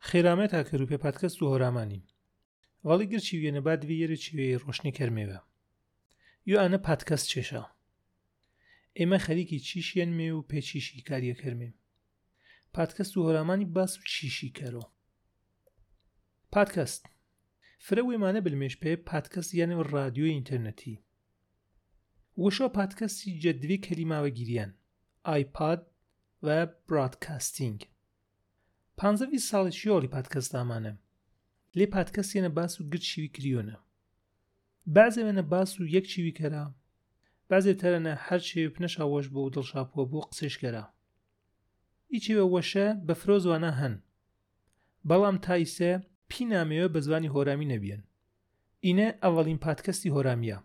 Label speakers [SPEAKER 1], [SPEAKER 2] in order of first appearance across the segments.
[SPEAKER 1] خێرامەتە کە ڕوپێ پادکەست و هۆرامانی وەڵی گرچی وێنە با دوێ چوێ ڕۆشنی کەرمێوە یو ئانە پادکەست چێشە ئێمە خەریکی چیشیان مێ و پێچیشی کاریە کەرمێ پادکەست و هۆرامانی باس و چیشی کەرۆ پادکەست فرە وێمانە بلمێش پێ پادکەست یانە ڕادیۆی ئینتەرنەتی وشۆ پادکەستی جەدوی کەلیماوە گیریان ئایپاد و برادکاستینگ 15 ساڵی شیۆڵی پادکەست ئامانە لێ پادکەست یەنە باس و گرت شیوی کریۆنە بازێ وێنە باس و یەک چیوی کەرا بازێ تەرەنە هەر چێوی پنەشا وەش بۆ و دڵشاپووە بۆ قسەش کەرا ئیچێوە وەشە بە فرۆ زوانە هەن بەڵام تایسە پی نامەوە بە زوانی هۆرامی نەبیێن ئینە ئەوەڵین پادکەستی هۆرامیە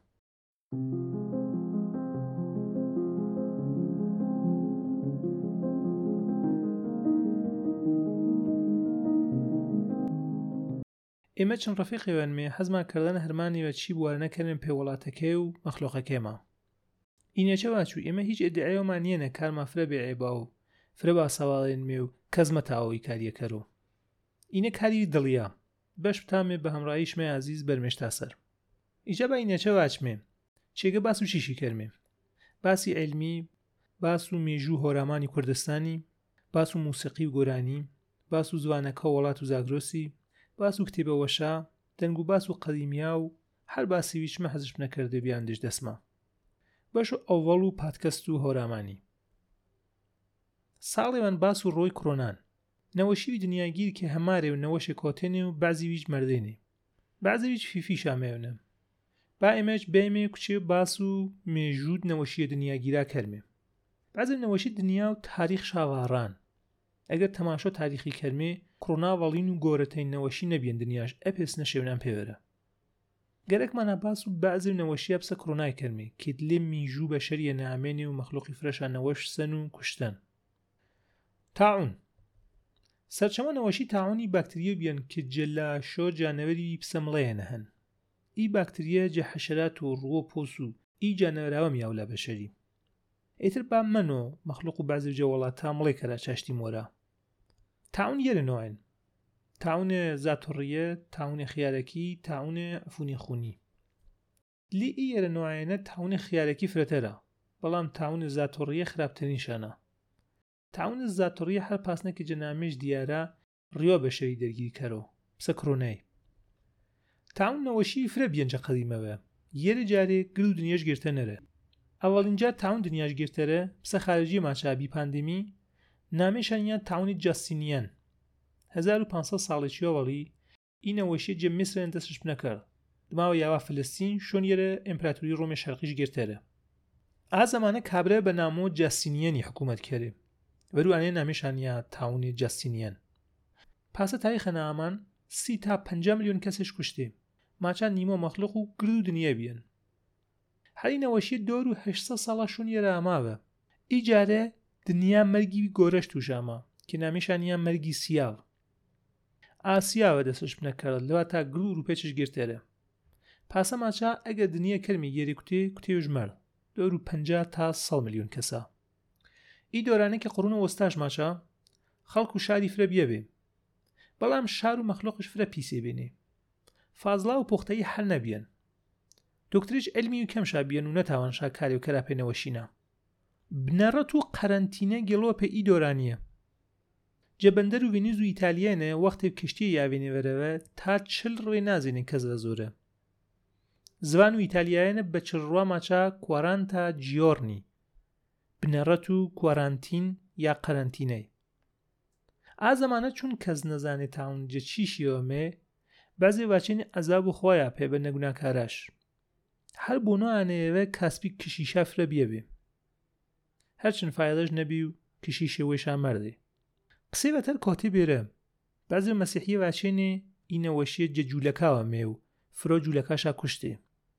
[SPEAKER 1] ئێمە چەند ڕەفیقێوانمێ حەزمان کردنە هەرمانیوە چی بوارە نەکەرن پێ وڵاتەکەی و مەخلۆقەکەیمە ئینەچە واچوو ئێمە هیچ ئێدعایەوەمان نیەنە کارمان فرە بێعیبا و فرە باسەواڵێن مێ و کەس مەتاوەی کاریەکەرۆ ئینە کاری دڵیە بەش بتامێ بە هەمڕاییشمە عزیز بەرمێشتا سەر ئیجا بە ئینەچە واچمێ چێگە باس و چیشی کەرمێ باسی علمی باس و مێژوو هۆرامانی کوردستانی باس و موسیقی و گۆرانی باس و زوانەکە وڵات و زاگرۆسی باس و کتێبە وەشا دەنگ و باس و قەدیمیا و هەر باسی ویچمە حەزش نەکردێ بیان دش دەسما باش و ئەوڵ و پادکەست و هۆرامانی ساڵێوان باس و ڕۆی کڕۆنان نەوەشیوی دنیاگیر کە هەمارێ و نەوەشێ کۆتێنێ و بازی ویچ مەردێنێ بازی ویچ فیفی شامێونە با ئێمەش بێمێ کوچێ باس و مێژود نەوەشیە دنیاگیرا کەرمێ بازم نەوەشی دنیا و تاریخ شاواران ئەگەر تەماشۆ تاریخی کەرمێ کڕۆناوەڵین و گۆرەتەین نەوەشی نەبیێن دنیاش ئەپێس نەشێونان پێوەرە گەرەکمانە باس و بەعزی نەوەشیە بسە کڕۆنای کەرمێ کێت لێ میژوو بە شەریە نامێنێ و مەخلوقی فرەشان نەوەش سەن و کوشتن تاعون سەرچەمە نەوەشی تاعونی باکتریە بیان کە جەلاشۆ جانەوەری پسەمڵەیەنە هەن ئی باکتریە جە حەشەرات و ڕووە پۆس و ئی جانەوەراوە میاولا بەشەری ئیتر با منۆ مەخلوق و بازی جەوەڵات تا مڵێ کەرا چاشتی مۆرە تاعون یەرە نوعن تاعون زاتوڕیە تاعون خیارەکی تاعون عفونی خونی لی ئی یەرە نوعێنە تاعون خیارەکی فرەتەرە بەڵام تاعون زاتوڕیە خراپترین شانە تاعون زاتوڕیە هەر پاسنەکە جەنامێش دیارە ڕیۆ بەشەری دەرگیری کەرۆ پسە کڕۆنەی تاعون نەوەشی فرە بیەنجە قەدیمەوە یەرە جارێ گر و دنیاش گرتە نەرە ئەوەڵینجا تاعون دنیاش گرتەرە پسە خارجی ماچابی پاندمی نامێشانیان تاعونی جاستینیان 1500 ساڵێکی ئەوەڵی ئی نەوەشیە جە میسرەن دەستش نەکرد دماوە یاوا فلستین شۆن یەرە ئیمپراتوری ڕۆمی شەرقیش گرتەرە ئا زەمانە کابرە بە نامۆ جاستینیانی حکوومەت کەرێ وەروانێ نامێشانیا تاعونی جاستینیان پاسە تاریخە نامان 30 تا 50 میلیۆن کەسش کوشتێ ماچان نیمە مەخلوق و گر و دنیا بیان هەری نەوەشی 2800 ساڵە شۆن یەرە ئاماوە ئیجارە دنیا مەرگی گۆرەش توشامە کە نامیشانیان مەرگی سیاو ئاسیاوە دەستش نەکرد لەوە تا گرور و پێچش گرتێرە پاسە ماچا ئەگە دنیا کەرمی یەری کوتێ ژمەر 250 تا 100 میلیۆن کەسە ئی دۆرانە کە قڕون و وەستاش ماچا خەڵک و شاری فرە بیەبێ بەڵام شار و مەخلوقش فرە پیسێ بێنێ فازڵا و پۆختەیی هەر نەبیەن دکتریش علمی و کەم شابیەن و نەتاوان شاکاری و کەراپێنەوەشینە بنەڕەت و قەرەنتینە گەڵۆپە ئی دۆرانیە جەبەندەر و ڤێنیز و ئیتالیانە وەختێ کشتی یاوێنێوەرەوە تا 40 ڕێ نازێنن کەس لە زۆرە زوان و ئیتالیایانە بە چڕوا ماچا کوارانتا جیۆرنی بنەڕەت و کوارانتین یا قەرەنتینەی ئا زەمانە چون کەس نەزانێت تاون جە چیشیەوەمێ بەزێ واچێنی ئەزاب و خۆیە پێ بە نەگوناکاراش هەر بۆ نوانەیەوە کاسپی کشیشە فرە بیەبێ هەرچن فایدەش نەبی و کشیشە وێشان مەردێ قسەی بەتەر کۆتێ بێرە بەزێ مەسیحیە واچێنێ ئی نەوەشیە جە جوولەکاوە مێ و فرۆ جوولەکاشا کوشتێ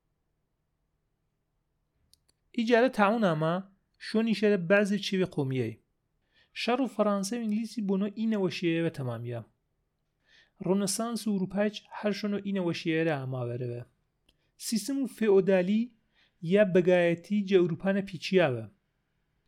[SPEAKER 1] ئیجارە تاعون ئاما شۆنی شەرە بازێ چێوێ قۆمیەی شەڕ و فەڕانسە و ئینگلیسی بۆنۆ ئی نەوەشیەوە تەمامیە ڕۆنەسانس و ئوروپاچ هەر شۆنۆ ئی نەوەشیەرە ئاماوەرەوە سیستم و فێئۆدالی یا بەگایەتی جە ئەوروپانە پیچیاوە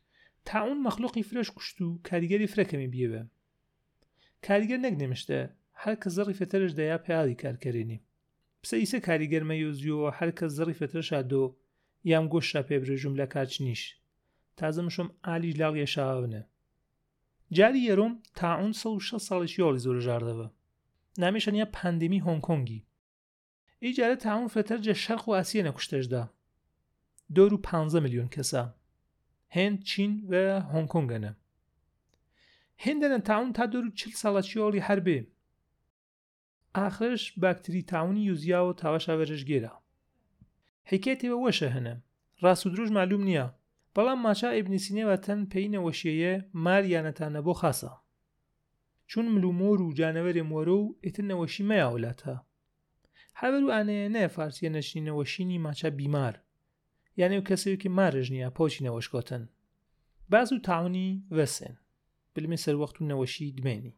[SPEAKER 1] تاعون مەخلوقی فرەش کوشت و کاریگەری فرەکەمی بیەوە کاریگەر نەک نێمشتە هەر کە زەڕی فێتەرش دەیا پیاڵی کارکەرێنی پسە ئیسە کاریگەرمە یۆزیۆوە هەر کە زەڕی فێتەرشا دۆ یام گۆشتا پێبرێژم لە کارچنیش تازە مشۆم ئالیش لاڵ یێشاوەنە جاری یەرۆم تاعون 160 ساڵێکی یۆڵی زۆر ژاردەوە نامێشەنیا پاندێمی هۆنگکۆنگی ئیجارە تاعون فێتەرجە شەرق و ئاسیە نەکوشتەشدا 2.15 میلیۆن کەسە هند چین و هۆنگکۆنگەنە هندەنە تاعون تا 240 ساڵەکی یۆڵی هەربێ ئاخرش باکتری تاعونی یوزیا و تاوەشا وەرژگێرە حکایەتێوە وەشە هەنە ڕاست و درۆژ معلوم نییە بەڵام ماچا ئیبنی سینەوە تەن پێی نەوەشیەیە مار یانەتانە بۆ خاسە چون ملومۆر و جانەوەرێ مۆرە و ئیتر نەوەشی مەیە وڵاتە هەبەر و ئانەیە نەیە فارسیە نەشنی نەوەشینی ماچا بیمار یانێ و کەسێکی مارژ نییە پۆچی نەوەشکۆتن باز و تاعونی وەسێن بلمێ سەروەخت و نەوەشی دمێنی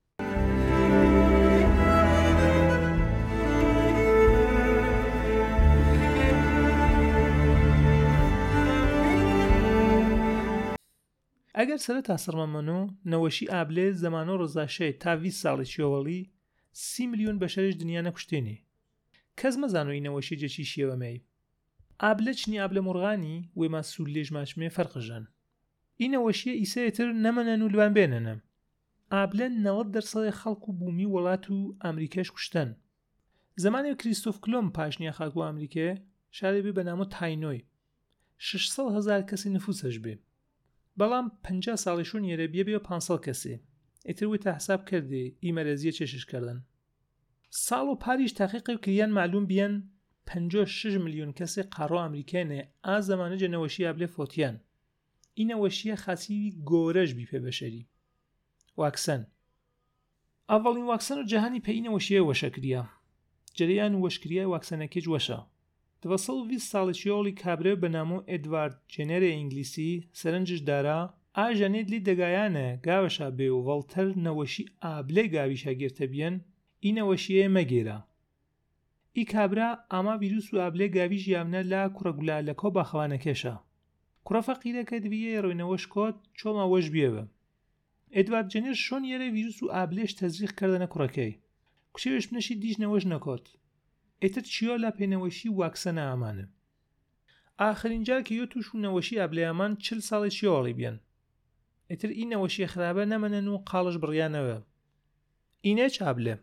[SPEAKER 1] ئەگەر سەرەتا سڕمەمەنۆ نەوەشی ئابلێ زەمانۆ ڕزاشەیە تا 20 ساڵێکی ئەوەڵی 30 میلیۆن بەشەرش دنیا نەکوشتێنێ کەس مەزانۆی نەوەشی جەچی شێوەمەی ئابلە چنی ئابلە مرغانی وێما سوول لێژ ماچمێ فەرقژەن ئی نەوەشیە ئیسەیەتر نەمەنەن و لوان بێنەنە ئابلە 90% خەڵک و بوومی وڵات و ئەمریکاش کوشتن زمانی کریستۆف کلۆم پاشنیا خاک و ئەمریکا شارێ بێ بەنامۆ تاینۆی 600,000 کەسی نفوسەش بێ بەڵام 50 ساڵیشون یێرە بێ 500 کەسێ ئیتر وی تا حساب کردێ ئیمەرەزیە چێشش کردن ساڵ و پاریش تحقیقی و کریان معلوم بیان 56 میلیۆن کەسێ قاڕۆ ئەمریکانێ ئا زەمانە جەنەوەشی ئابلێ فۆتیان ئی نەوەشیە خاسی گۆرەش بی پێ بەشەری واکسەن ئاڤڵین واکسەن و جەهانی پێی نەوەشیە وەشەکریە جەریان و وەشکریای واکسەنەکەی وەشە 220 ساڵێکی یۆڵی کابرە بەنامۆ ئێدوارد جێنەرە ئینگلیسی سەرنجش دارا ئاژەنێت لی دەگایانە گاوەشا بێ و ڤەڵتەر نەوەشی ئابلێ گاویشە گێرتە بیەن ئی نەوەشیە مەگێرە ئی کابرا ئاما ڤیروس و ئابلێ گاویش یامنە لا کوڕە گولالەکۆ باخەوانەکێشە کوڕە فەقیرەکە دبیە ڕۆینەوەش کۆت چۆما وەش بیەوە ئێدوارد جێنەر شۆن یێرە ڤیروس و ئابلێش تەزریق کردنە کوڕەکەی کوچێوش منەشی دیش نەوەش نەکۆت ئێتر چیۆ لا پێنەوەشی واکسەنە ئامانە ئاخرین جار کە یۆ توش و نەوەشی ئابلێیامان 40 ساڵێکی یۆڵی بیان ئێتر ئی نەوەشی خراپە نەمەنەن و قاڵش بڕیانەوە ئینەچ ئابلێ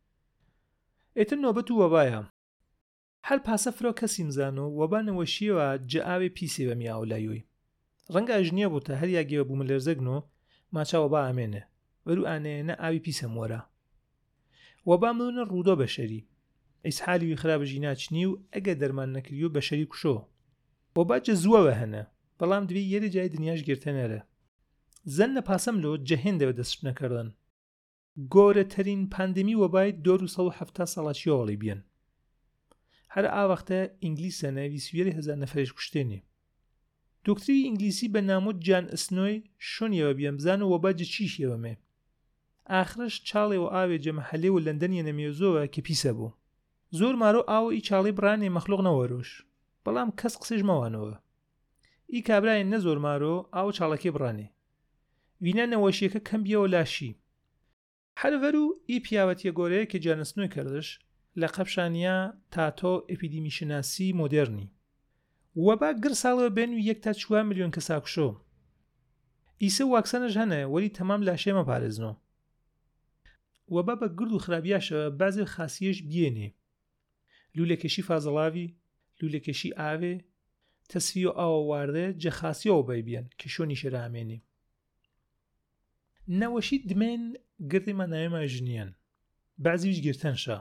[SPEAKER 1] ئێتر نۆبەت و وەبایە هەر پاسە فرۆ کەسی مزانۆ وەبا نەوەشیەوە جەئاوێ پیسێ بە میاولایۆی ڕەنگە ئەژنیە بوو تا هەر یاگێوە بوو ملەرزەگنۆ ماچا وەبا ئامێنە وەرو ئانەیەنە ئاوی پیسە مۆرە وەبا ملونە ڕوودۆ بەشەری ئیسحالی وی خراپژی ناچنی و ئەگە دەرمان نەکریو بەشەری کوشۆ وەبا جەزووەوە هەنە بەڵام دوێ یەرە جای دنیاش گرتەنەرە زەنە پاسەم لۆ جەهێندەوە دەست نەکردن گۆرەترین پاندێمی وەبای 270 ساڵاتی یۆڵی بیان هەر ئاوەختە ئینگلیسەنە 20,000 نەفرێش کوشتێنێ دۆکتری ئینگلیسی بە نامۆ جان ئسنۆی شۆنیەوە بیان بزان و وەبا جەچیشیەوەمێ ئاخرش چاڵێ و ئاوێ جەمەحەلێ و لەندەنیە نەمێزۆوە کە پیسە بوو زۆر مارۆ ئاوە ئی چاڵی بڕانێ مەخلوق نەوەرۆش بەڵام کەس قسەش مەوانەوە ئی کابراین نە زۆر مارۆ ئاو چاڵەکەی بڕانێ وینە نەوەشیەکە کەم بیەوە لاشی هەرڤەر و ئی پیاوەتیە گۆرەیە کە جانسنۆی کردش لە قەپشانیا تاتۆ ئەپیدیمیشناسی مۆدێرنی وەبا گر ساڵەوە بێن و 1 تا 4 میلیۆن کەساکوشۆ ئیسە واکسەنەش هەنە وەلی تەمام لاشێ مەپارێزنەوە وەبا بە گرد و خراپیاشەوە بازێ خاسیەش بیێنێ لولەکێشی فازەڵاوی لولەکێشی ئاوێ تەسفی و ئاوە واردە جەخاسیەوە بەیبیان کە شۆنی شێرامێنێ نەوەشی دمێن گردی ماناوێمە ژنیان بەعزیویش گرتەنشە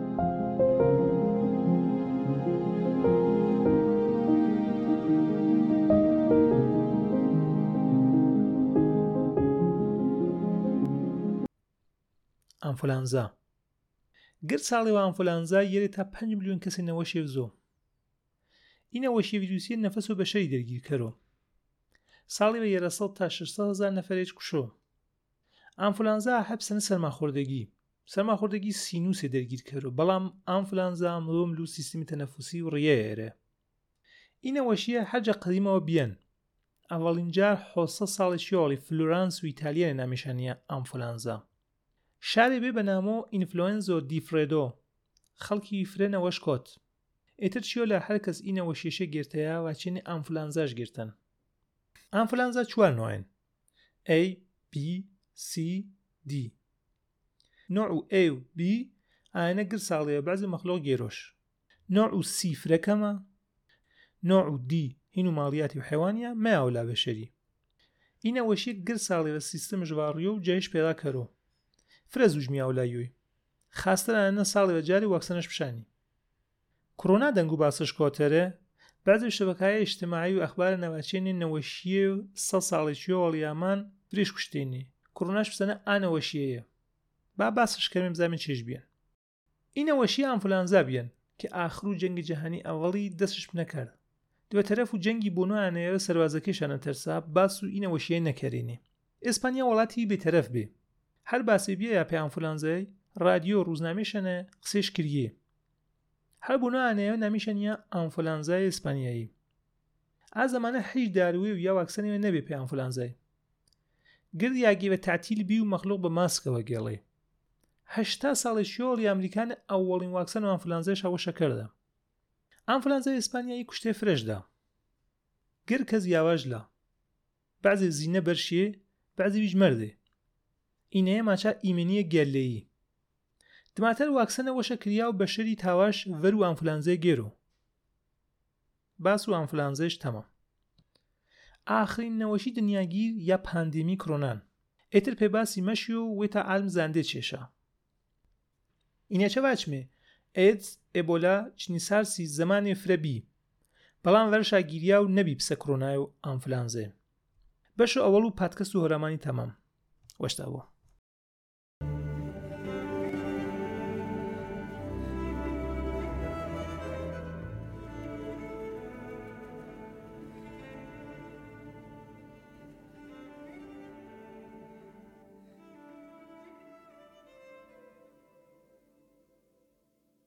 [SPEAKER 1] ئەنفولانزا گر ساڵێەوە ئەنفولانزا یەرێ تا 5 میلیۆن کەسی نەوەشێ زۆ ئی نەوەشی ڤیروسیە نەفەس و بەشەری دەرگیرکەرۆ ساڵێەوە یێرە 100 تا 600,000 نەفرێج کوشۆ ئەنفولانزا هەبسەنە سەرماخۆردەگی سینوسێ دەرگیرکەرۆ بەڵام ئەنفولانزا ملۆ سیستمی تەنەفوسی و ڕیەیەرە ئی نەوەشیە هەرجە قەدیمەوە بیان ئەڤڵین جار 700 ساڵێکی یۆڵی فلۆرانس و ئیتالیە نامیشانیە ئەنفولانزا شاری به بنامو ئینفلۆئەنزۆ دیفرێدۆ خەڵکی فرێنەوەش کۆت ئیتر چیۆ لە هەر کەس ئینەوە شێشە گرتەیە واچێنی ئەنفلانزاش گرتن. ئەنفلانزا چوار نوعین: A, B, C, D. نوع A و B ئاەنە گر ساڵەیە بەعزی مەخلۆق گێرۆش. نوع C فرەکەمە. نوع D هین و ماڵیاتی و حیوانیە مەیاولا بەشەری. ئینەوەشی گر ساڵی بە سیستم ژواڕیۆ و جایش پێدا کەرۆ. فرە زوژمی ئەولایوی. خاستەرانە ساڵی بە جاری واکسنش پشانی. کۆرۆنا دەنگ و باسش کۆتەرە بعضی شبکه‌های اجتماعی و اخبار نوچین نوشیه 100 سالشی ولیامان فریش کشتینی. کروناش بسنه آنوشیه. با باسش کردیم زمین چیش بیان. این نوشیه انفلانزا بیان که آخرو جنگ جهانی اولی دستش نکرد. دو طرفو جنگی بونو آنیه سربازکیشان ترساب باسو این نوشیه نکردینی. اسپانیا ولاتی به طرف بی. هر باسی بیه یا پی انفلانزای رادیو روزنامه‌شنه قصیش کریه. هر بنا آنها نمیشن یا انفلانزای اسپانیایی. از زمان هیچ دارویی و یا واکسنی نبی پی انفلانزای. گردی اگه به تعطیل بیو مخلوق به ماسک و گلی. 80 سالش یولی امریکان اولین واکسن و انفلانزایش هوش کرده. انفلانزای اسپانیایی کشته فرش ده. گرد کز یواش لا. بعضی زینه برشیه، بعضی بیج مرده. اینه ماچا ایمنی گله‌ای. دماتر واکسن وشه کریا و بشری تاواش ورو انفلانزای گیرو. باسو انفلانزایش تمام. آخرین نوشی دنیاگیر یا پاندمی کرونان. اتر پی باسی مشیو و تا علم زنده چشه. اینه چه وچمه؟ ایدز، ایبولا، چنی سارسی زمان فربی. بلان ورشا گیریا و نبی بس کرونای و انفلانزای. بشو اولو پادکست و هرمانی تمام. وشتاو.